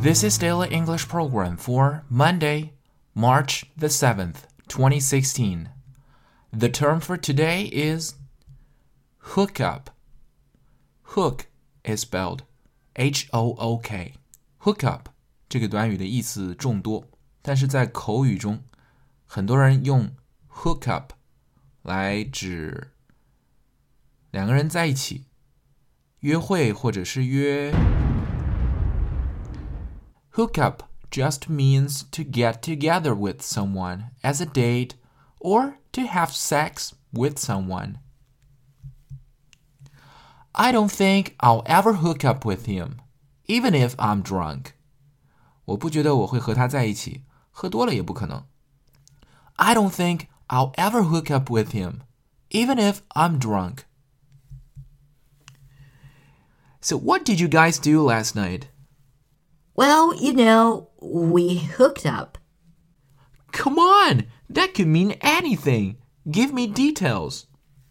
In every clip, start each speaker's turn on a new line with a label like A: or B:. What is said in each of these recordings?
A: This is Daily English Program for Monday, March the 7th, 2016. The term for today is hook up. Hook is spelled H-O-O-K. Hook up 这个短语的意思众多，但是在口语中，很多人用 hook up 来指两个人在一起约会或者是约。Hook up just means to get together with someone as a date or to have sex with someone. I don't think I'll ever hook up with him, even if I'm drunk. 我不觉得我会和他在一起，喝多了也不可能。I don't think I'll ever hook up with him, even if I'm drunk. So what did you guys do last night?
B: Well, we hooked up.
A: Come on, that could mean anything. Give me details.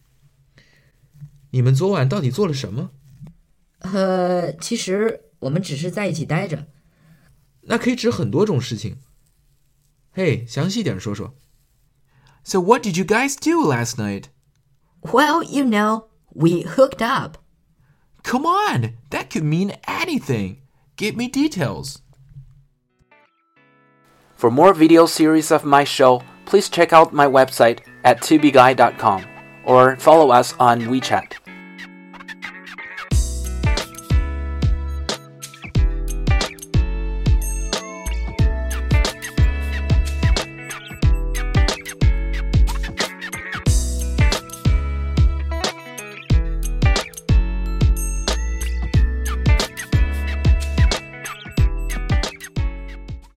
A: 你们昨晚到底做了什么？
B: 其实我们只是在一起待着。
A: 那可以指很多种事情。嘿，详细点说说。So what did you guys do last night?
B: Well, we hooked up.
A: Come on, that could mean anything. Give me details. For more video series of my show, please check out my website at tubeguy.com or follow us on WeChat.